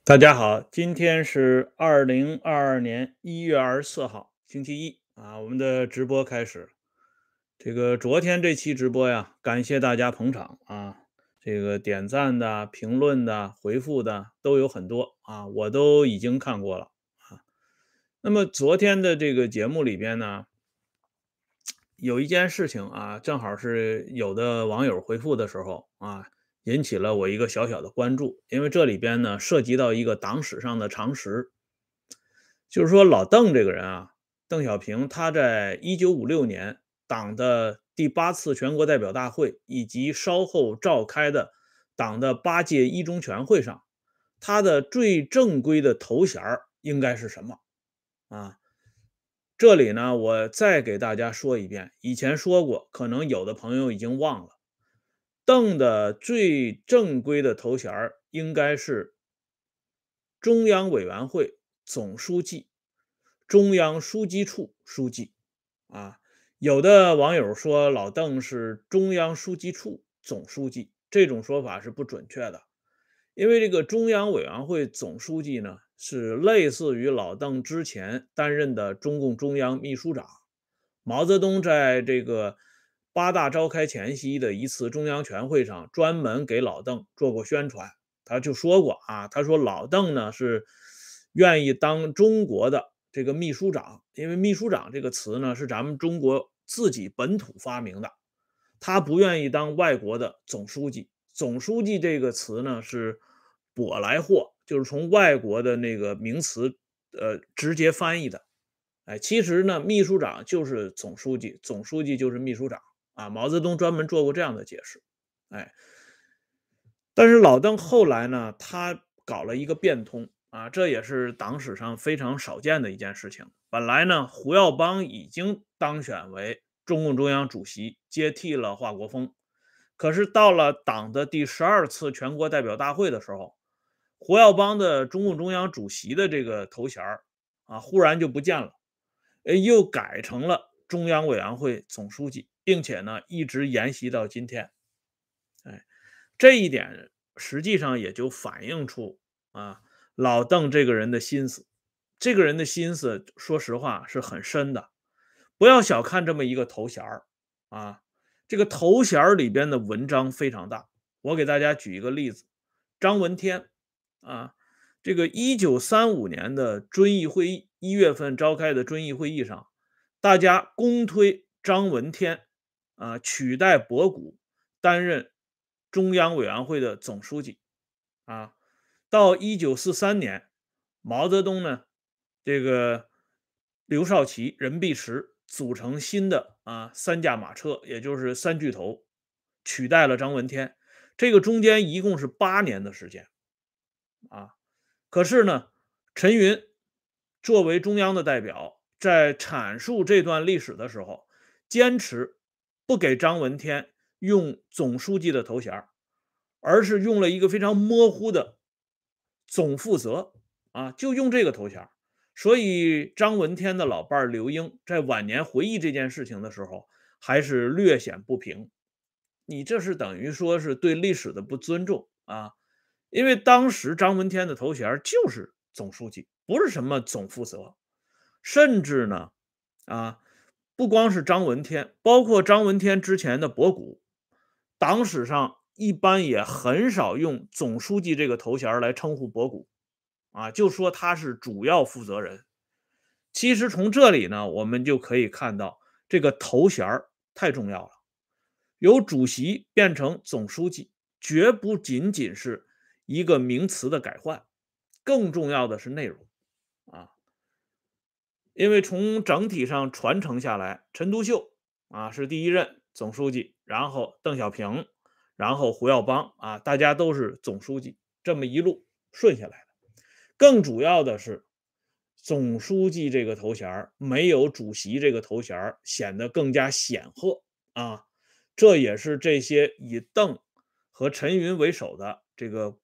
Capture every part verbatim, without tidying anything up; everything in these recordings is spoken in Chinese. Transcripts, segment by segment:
大家好，今天是二零二二年一月二十四号，星期一啊，我们的直播开始。这个昨天这期直播呀，感谢大家捧场啊，这个点赞的、评论的、回复的都有很多啊，我都已经看过了啊。那么昨天的这个节目里边呢，有一件事情啊，正好是有的网友回复的时候啊，引起了我一个小小的关注，因为这里边呢涉及到一个党史上的常识。就是说老邓这个人啊，邓小平他在一九五六年党的第八次全国代表大会以及稍后召开的党的八届一中全会上，他的最正规的头衔儿应该是什么啊？这里呢，我再给大家说一遍，以前说过，可能有的朋友已经忘了。邓的最正规的头衔儿应该是中央委员会总书记、中央书记处书记啊。有的网友说老邓是中央书记处总书记，这种说法是不准确的。因为这个中央委员会总书记呢，是类似于老邓之前担任的中共中央秘书长。毛泽东在这个八大召开前夕的一次中央全会上，专门给老邓做过宣传。他就说过啊，他说老邓呢是愿意当中国的这个秘书长，因为秘书长这个词呢是咱们中国自己本土发明的，他不愿意当外国的总书记。总书记这个词呢是舶来货，就是从外国的那个名词呃直接翻译的。哎，其实呢，秘书长就是总书记，总书记就是秘书长啊。毛泽东专门做过这样的解释。哎，但是老邓后来呢，他搞了一个变通啊，这也是党史上非常少见的一件事情。本来呢，胡耀邦已经当选为中共中央主席，接替了华国锋。可是到了党的第十二次全国代表大会的时候，胡耀邦的中共中央主席的这个头衔儿啊，忽然就不见了，呃，又改成了中央委员会总书记，并且呢，一直沿袭到今天。哎，这一点实际上也就反映出啊，老邓这个人的心思。这个人的心思，说实话是很深的。不要小看这么一个头衔儿啊，这个头衔儿里边的文章非常大。我给大家举一个例子，张闻天啊，这个一九三五年的遵义会议，一月份召开的遵义会议上，大家公推张闻天啊取代博古担任中央委员会的总书记啊。到一九四三年，毛泽东呢，这个刘少奇、任弼时组成新的啊三驾马车，也就是三巨头，取代了张闻天。这个中间一共是八年的时间啊。可是呢，陈云作为中央的代表，在阐述这段历史的时候，坚持不给张闻天用总书记的头衔，而是用了一个非常模糊的总负责啊，就用这个头衔。所以张闻天的老伴儿刘英在晚年回忆这件事情的时候，还是略显不平。你这是等于说是对历史的不尊重啊！因为当时张闻天的头衔就是总书记，不是什么总负责。甚至呢，啊，不光是张闻天，包括张闻天之前的博古，党史上一般也很少用总书记这个头衔来称呼博古啊，就说他是主要负责人。其实从这里呢，我们就可以看到这个头衔太重要了。由主席变成总书记，绝不仅仅是一个名词的改换，更重要的是内容啊。因为从整体上传承下来，陈独秀啊是第一任总书记，然后邓小平，然后胡耀邦啊，大家都是总书记，这么一路顺下来的。更主要的是，总书记这个头衔没有主席这个头衔显得更加显赫啊。这也是这些以邓和陈云为首的这个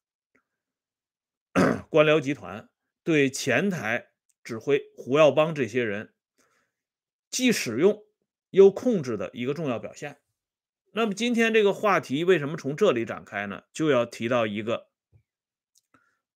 官僚集团对前台指挥胡耀邦这些人既使用又控制的一个重要表现。那么今天这个话题为什么从这里展开呢？就要提到一个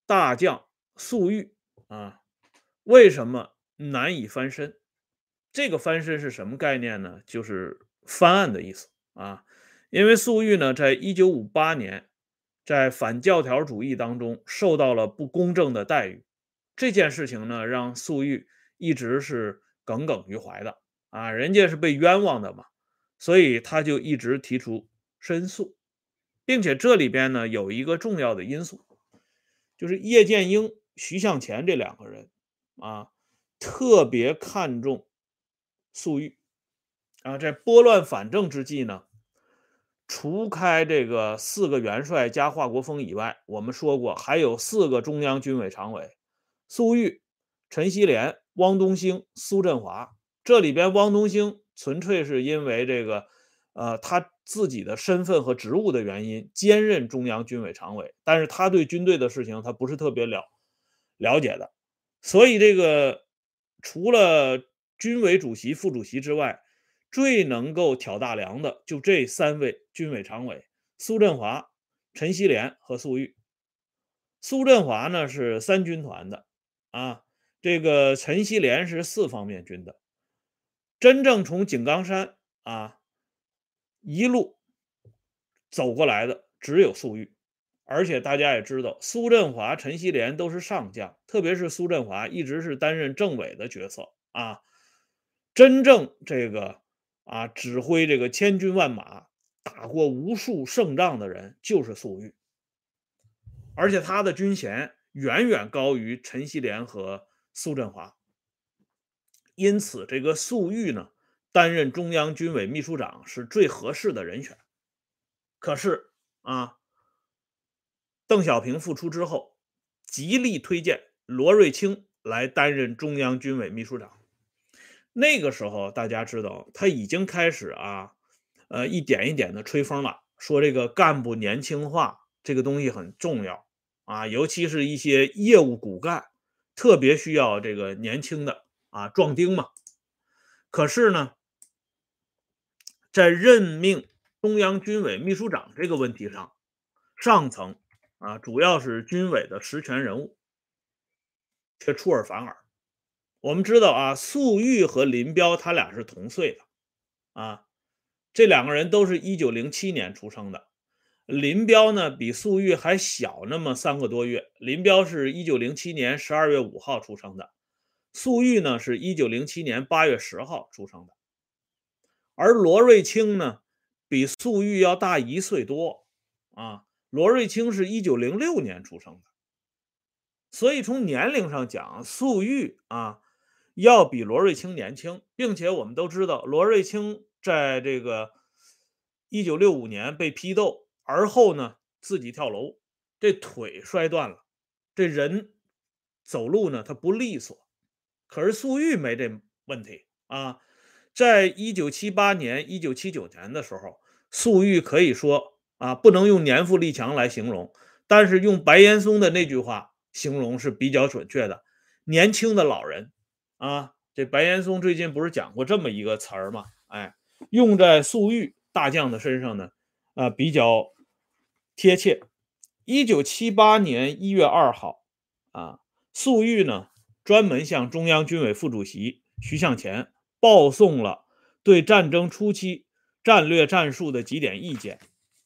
大将粟裕啊，为什么难以翻身？这个翻身是什么概念呢？就是翻案的意思啊。因为粟裕呢，在一九五八年在反教条主义当中受到了不公正的待遇，这件事情呢，让粟裕一直是耿耿于怀的啊，人家是被冤枉的嘛，所以他就一直提出申诉，并且这里边呢有一个重要的因素，就是叶剑英、徐向前这两个人啊，特别看重粟裕啊，在拨乱反正之际呢，除开这个四个元帅加华国锋以外，我们说过还有四个中央军委常委：粟裕、陈锡联、汪东兴、苏振华。这里边汪东兴纯粹是因为这个，呃，他自己的身份和职务的原因，兼任中央军委常委，但是他对军队的事情他不是特别了了解的，所以这个除了军委主席、副主席之外，最能够挑大梁的就这三位军委常委：苏振华、陈锡联和粟裕。苏振华呢是三军团的啊，这个陈锡联是四方面军的。真正从井冈山啊一路走过来的只有粟裕，而且大家也知道，苏振华、陈锡联都是上将，特别是苏振华一直是担任政委的角色啊。真正这个啊指挥这个千军万马、打过无数胜仗的人就是粟裕，而且他的军衔远远高于陈锡联和苏振华，因此这个粟裕呢担任中央军委秘书长是最合适的人选。可是啊，邓小平复出之后，极力推荐罗瑞卿来担任中央军委秘书长。那个时候大家知道，他已经开始啊，呃，一点一点的吹风了，说这个干部年轻化这个东西很重要啊，尤其是一些业务骨干，特别需要这个年轻的啊壮丁嘛。可是呢，在任命中央军委秘书长这个问题上，上层啊，主要是军委的实权人物，却出尔反尔。我们知道啊，粟裕和林彪他俩是同岁的啊，这两个人都是一九零七年出生的。林彪呢比粟裕还小那么三个多月，林彪是一九零七年十二月五号出生的，粟裕呢是一九零七年八月十号出生的。而罗瑞卿呢比粟裕要大一岁多啊，罗瑞卿是一九零六年出生的，所以从年龄上讲，粟裕啊要比罗瑞卿年轻，并且我们都知道，罗瑞卿在这个一九六五年被批斗，而后呢自己跳楼，这腿摔断了，这人走路呢他不利索。可是粟裕没这问题啊，在一九七八年、一九七九年的时候，粟裕可以说啊，不能用年富力强来形容，但是用白岩松的那句话形容是比较准确的：年轻的老人啊。这白岩松最近不是讲过这么一个词儿吗？哎，用在粟裕大将的身上呢，啊，比较贴切。一九七八年一月二号，啊，粟裕呢专门向中央军委副主席徐向前报送了对战争初期战略战术的几点意见。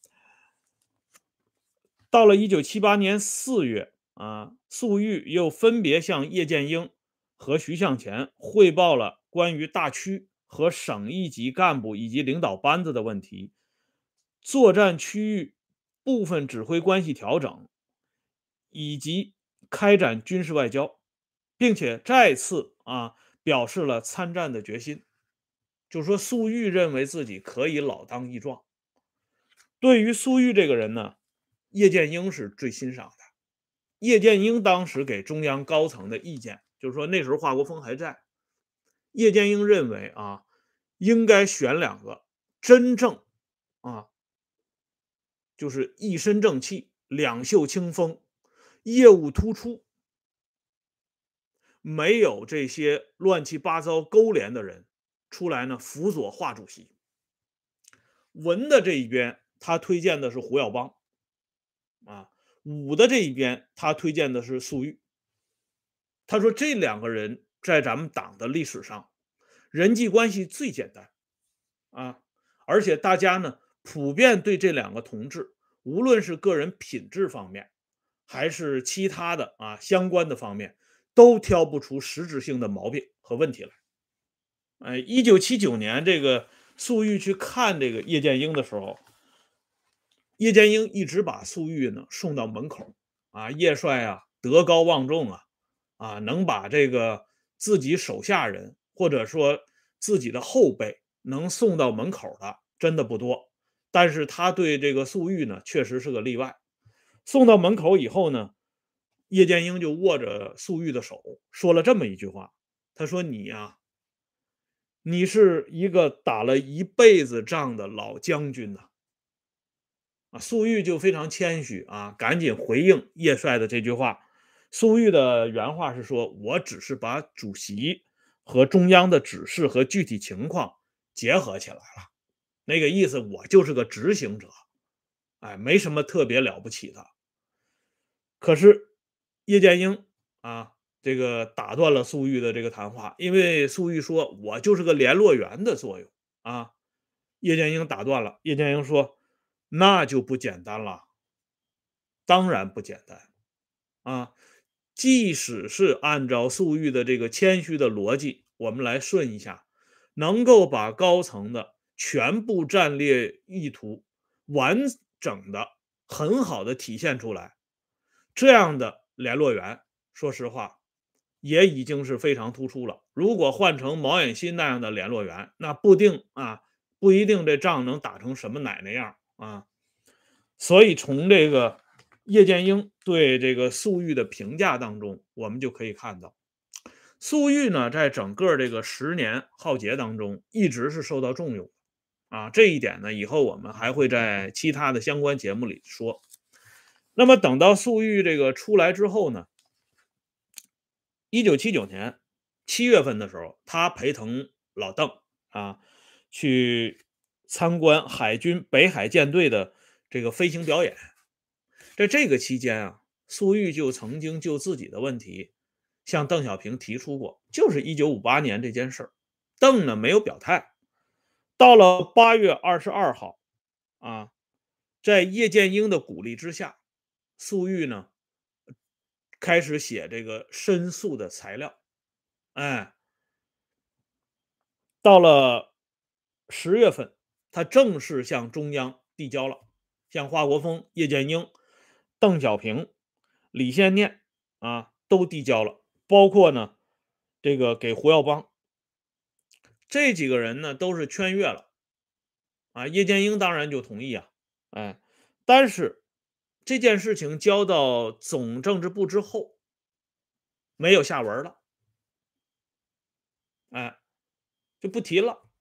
到了一九七八年四月啊，粟裕又分别向叶剑英和徐向前汇报了关于大区和省一级干部以及领导班子的问题，作战区域部分指挥关系调整，以及开展军事外交，并且再次啊表示了参战的决心。就说粟裕认为自己可以老当益壮。对于粟裕这个人呢，叶剑英是最欣赏的。叶剑英当时给中央高层的意见，就是说那时候华国锋还在，叶剑英认为啊，应该选两个真正啊，就是一身正气、两袖清风、业务突出，没有这些乱七八糟勾连的人出来呢辅佐华主席。文的这一边，他推荐的是胡耀邦啊。 武的这一边，他推荐的是粟裕。他说这两个人在咱们党的历史上，人际关系最简单啊，而且大家呢普遍对这两个同志，无论是个人品质方面，还是其他的啊相关的方面，都挑不出实质性的毛病和问题来。哎，一九七九年这个粟裕去看这个叶剑英的时候，叶剑英一直把粟裕呢送到门口啊，叶帅啊德高望重啊，啊能把这个自己手下人或者说自己的后辈能送到门口的真的不多，但是他对这个粟裕呢确实是个例外。送到门口以后呢，叶剑英就握着粟裕的手说了这么一句话，他说：“你呀、你是一个打了一辈子仗的老将军呐。”啊，粟裕就非常谦虚啊，赶紧回应叶帅的这句话。粟裕的原话是说：“我只是把主席和中央的指示和具体情况结合起来了，那个意思我就是个执行者，哎，没什么特别了不起的。”可是叶剑英啊，这个打断了粟裕的这个谈话，因为粟裕说：“我就是个联络员的作用啊。”叶剑英打断了，叶剑英说：“那就不简单了，当然不简单啊！即使是按照粟裕的这个谦虚的逻辑，我们来顺一下，能够把高层的全部战略意图完整的、很好的体现出来，这样的联络员，说实话，也已经是非常突出了。如果换成毛远新那样的联络员，那不定啊，不一定这仗能打成什么奶奶样啊。”所以从这个叶剑英对这个粟裕的评价当中，我们就可以看到，粟裕呢在整个这个十年浩劫当中，一直是受到重用啊。这一点呢，以后我们还会在其他的相关节目里说。那么等到粟裕这个出来之后呢，一九七九年七月份的时候，他陪同老邓啊去参观海军北海舰队的这个飞行表演。在这个期间啊，粟裕就曾经就自己的问题向邓小平提出过，就是一九五八年这件事儿。邓呢没有表态。到了八月二十二号啊，在叶剑英的鼓励之下，粟裕呢开始写这个申诉的材料。哎，到了十月份，他正式向中央递交了，向华国锋、叶剑英、邓小平、李先念啊都递交了，包括呢这个给胡耀邦这几个人呢都是圈阅了啊。叶剑英当然就同意啊，哎，但是这件事情交到总政治部之后，没有下文了，哎，就不提了。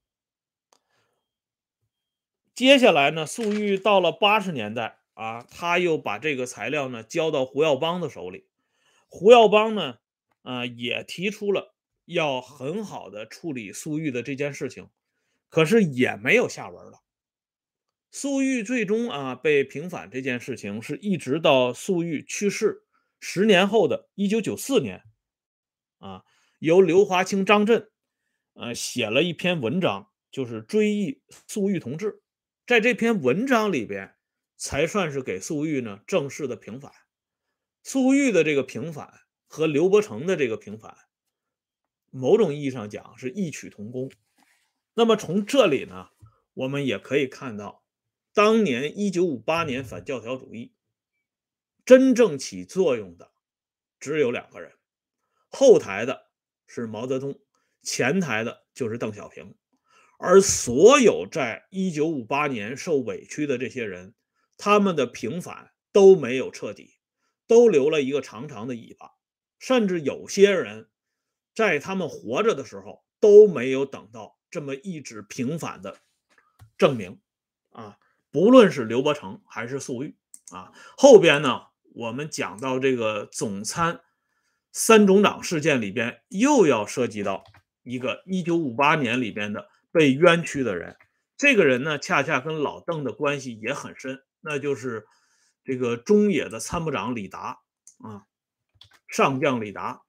接下来呢，粟裕到了八十年代啊，他又把这个材料呢交到胡耀邦的手里。胡耀邦呢，啊、也提出了要很好的处理粟裕的这件事情，可是也没有下文了。粟裕最终啊被平反这件事情，是一直到粟裕去世十年后的一九九四年啊，由刘华清、张震呃写了一篇文章，就是追忆粟裕同志。在这篇文章里边，才算是给粟裕呢正式的平反。粟裕的这个平反和刘伯承的这个平反，某种意义上讲是异曲同工。那么从这里呢，我们也可以看到，当年一九五八年反教条主义真正起作用的只有两个人，后台的是毛泽东，前台的就是邓小平。而所有在一九五八年受委屈的这些人，他们的平反都没有彻底，都留了一个长长的尾巴，甚至有些人在他们活着的时候都没有等到这么一纸平反的证明啊。不论是刘伯承还是粟裕啊，后边呢，我们讲到这个总参三总长事件里边，又要涉及到一个一九五八年里边的被冤屈的人。这个人呢，恰恰跟老邓的关系也很深，那就是这个中野的参谋长李达啊，上将李达。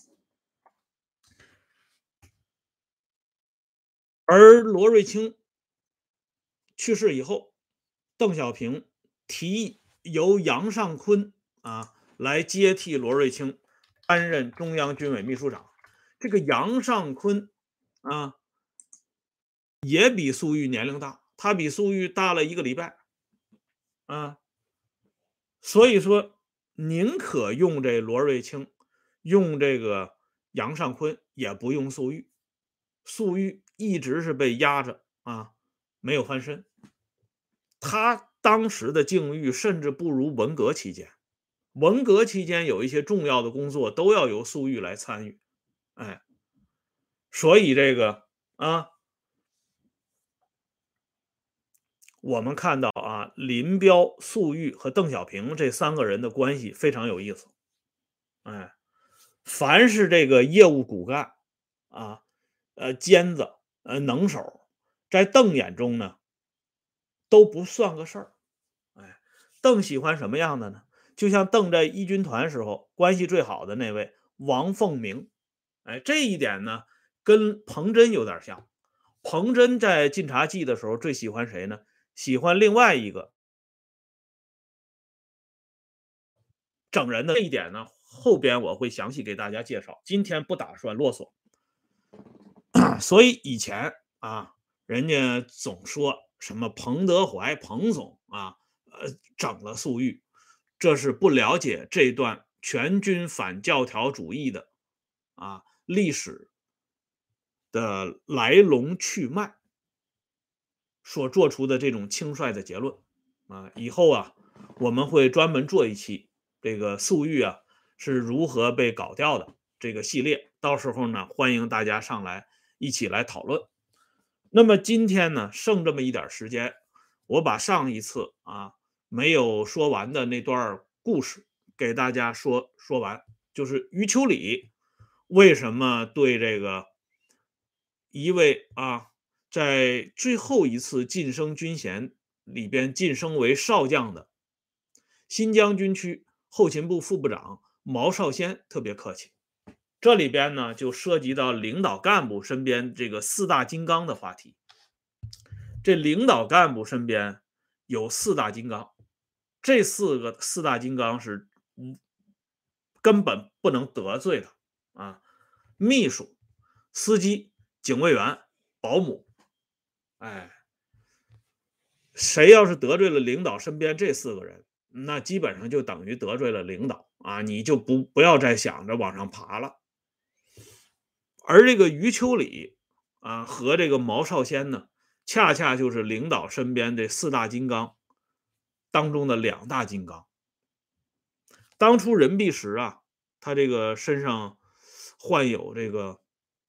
而罗瑞卿去世以后，邓小平提议由杨尚昆啊来接替罗瑞卿担任中央军委秘书长。这个杨尚昆啊也比粟裕年龄大，他比粟裕大了一个礼拜啊，所以说宁可用这罗瑞卿，用这个杨尚昆，也不用粟裕。粟裕一直是被压着啊，没有翻身。他当时的境遇甚至不如文革期间，文革期间有一些重要的工作都要由粟裕来参与，哎，所以这个啊，我们看到啊，林彪、粟裕和邓小平这三个人的关系非常有意思，哎，凡是这个业务骨干啊，呃，尖子，呃，能手，在邓眼中呢都不算个事儿。哎，邓喜欢什么样的呢？就像邓在一军团时候关系最好的那位王凤鸣，哎，这一点呢跟彭真有点像。彭真在晋察冀的时候最喜欢谁呢？喜欢另外一个整人的。这一点呢，后边我会详细给大家介绍，今天不打算啰嗦。所以以前啊，人家总说什么彭德怀、彭总啊，呃，整了粟裕，这是不了解这段全军反教条主义的啊历史的来龙去脉所做出的这种轻率的结论啊。以后啊，我们会专门做一期这个粟裕啊是如何被搞掉的这个系列，到时候呢，欢迎大家上来一起来讨论。那么今天呢，剩这么一点时间，我把上一次啊没有说完的那段故事给大家说说完，就是余秋里为什么对这个一位啊在最后一次晋升军衔里边晋升为少将的新疆军区后勤部副部长毛少先特别客气。这里边呢，就涉及到领导干部身边这个四大金刚的话题。这领导干部身边有四大金刚，这四个四大金刚是根本不能得罪的啊！秘书、司机、警卫员、保姆，哎，谁要是得罪了领导身边这四个人，那基本上就等于得罪了领导啊！你就不不要再想着往上爬了。而这个余秋里啊和这个毛少先呢，恰恰就是领导身边这四大金刚当中的两大金刚。当初任弼时啊，他这个身上患有这个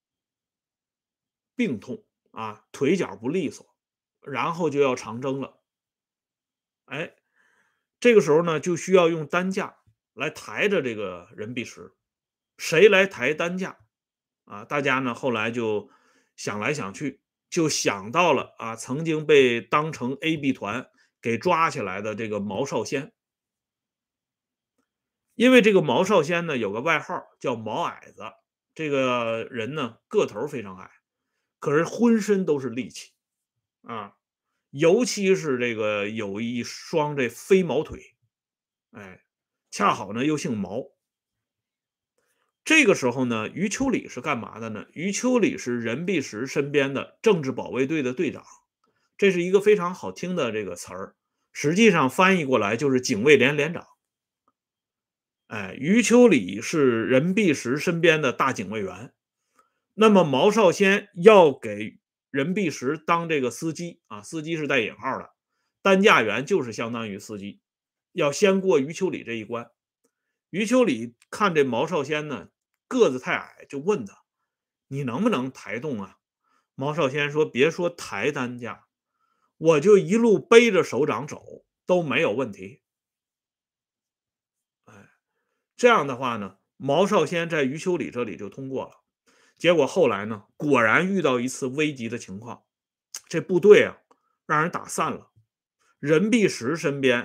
病痛啊，腿脚不利索，然后就要长征了。哎，这个时候呢，就需要用担架来抬着这个任弼时。谁来抬担架啊？大家呢后来就想来想去，就想到了啊，曾经被当成 A B 团给抓起来的这个毛少先。因为这个毛少先呢有个外号叫毛矮子，这个人呢个头非常矮，可是浑身都是力气啊，尤其是这个有一双这飞毛腿，哎，恰好呢又姓毛。这个时候呢，余秋里是干嘛的呢？余秋里是任弼时身边的政治保卫队的队长，这是一个非常好听的这个词儿，实际上翻译过来就是警卫连连长。哎，余秋里是任弼时身边的大警卫员，那么毛少先要给任弼时当这个司机啊，司机是带引号的，担架员就是相当于司机，要先过余秋里这一关。余秋里看这毛少先呢个子太矮，就问他：“你能不能抬动啊？”毛少先说：“别说抬担架，我就一路背着首长走都没有问题。”哎，这样的话呢，毛少先在余秋里这里就通过了。结果后来呢，果然遇到一次危急的情况，这部队啊让人打散了。任弼时身边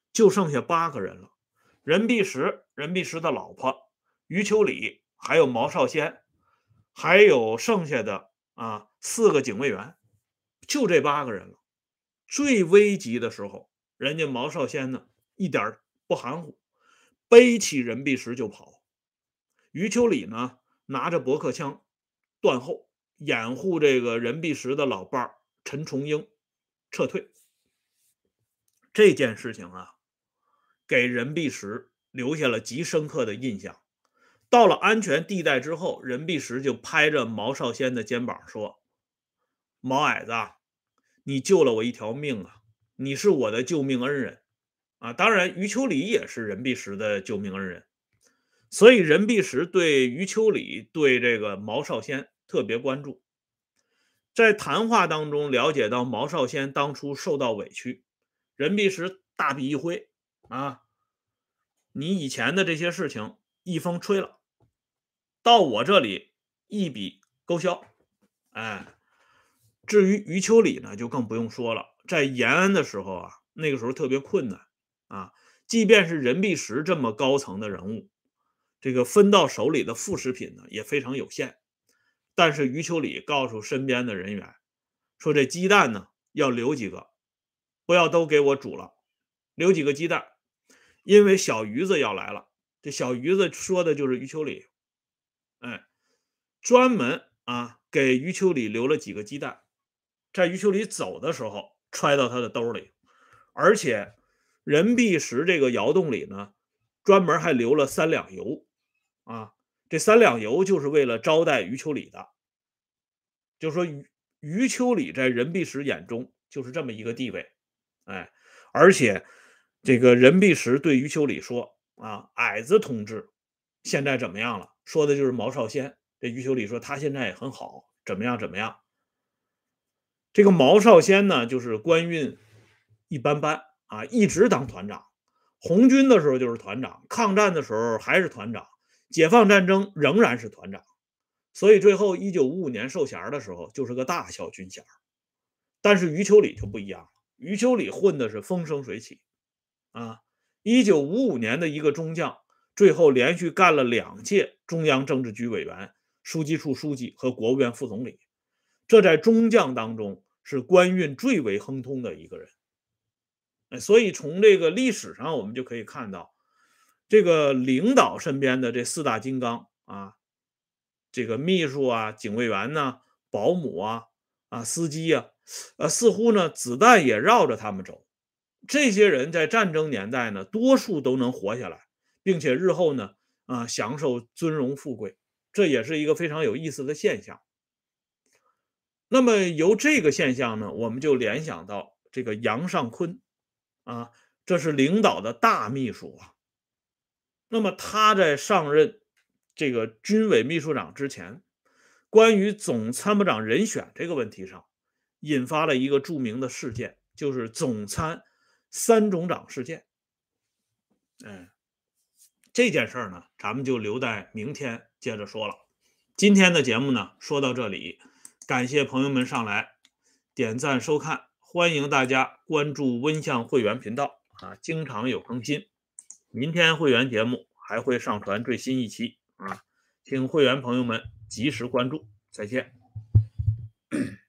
就剩下八个人了。任弼时、任弼时的老婆余秋里，还有毛少先，还有剩下的啊四个警卫员，就这八个人了。最危急的时候，人家毛少先呢一点不含糊，背起任弼时就跑。余秋里呢拿着驳壳枪断后，掩护这个任弼时的老伴儿陈重英撤退。这件事情啊，给任弼时留下了极深刻的印象。到了安全地带之后，任弼时就拍着毛少先的肩膀说：毛矮子，你救了我一条命啊，你是我的救命恩人啊。当然余秋里也是任弼时的救命恩人，所以任弼时对余秋里对这个毛少先特别关注。在谈话当中了解到毛少先当初受到委屈，任弼时大笔一挥啊，你以前的这些事情一风吹了，到我这里一笔勾销。哎，至于余秋里呢，就更不用说了。在延安的时候啊，那个时候特别困难啊，即便是任弼时这么高层的人物，这个分到手里的副食品呢也非常有限。但是余秋里告诉身边的人员说，这鸡蛋呢要留几个，不要都给我煮了，留几个鸡蛋，因为小鱼子要来了。这小鱼子说的就是余秋里，哎，专门啊给余秋里留了几个鸡蛋，在余秋里走的时候揣到他的兜里。而且任弼时这个窑洞里呢，专门还留了三两油啊，这三两油就是为了招待余秋里的。就是说余余秋里在任弼时眼中就是这么一个地位。哎，而且这个任弼时对余秋里说啊，矮子同志现在怎么样了？说的就是毛少先。这余秋里说他现在也很好，怎么样怎么样。这个毛少先呢，就是官运一般般啊，一直当团长。红军的时候就是团长，抗战的时候还是团长，解放战争仍然是团长。所以最后一九五五年授衔的时候就是个大校军衔。但是余秋里就不一样了，余秋里混的是风生水起啊。一九五五年的一个中将，最后连续干了两届中央政治局委员、书记处书记和国务院副总理，这在中将当中是官运最为亨通的一个人。所以从这个历史上我们就可以看到，这个领导身边的这四大金刚啊，这个秘书啊、警卫员呐、保姆啊、啊司机啊，呃，似乎呢子弹也绕着他们走。这些人在战争年代呢，多数都能活下来，并且日后呢啊享受尊荣富贵，这也是一个非常有意思的现象。那么由这个现象呢，我们就联想到这个杨尚昆啊，这是领导的大秘书啊。那么他在上任这个军委秘书长之前，关于总参谋长人选这个问题上，引发了一个著名的事件，就是总参三总长事件。嗯，这件事儿呢，咱们就留在明天接着说了。今天的节目呢，说到这里，感谢朋友们上来点赞收看，欢迎大家关注温相会员频道啊，经常有更新。明天会员节目还会上传最新一期啊，请会员朋友们及时关注，再见。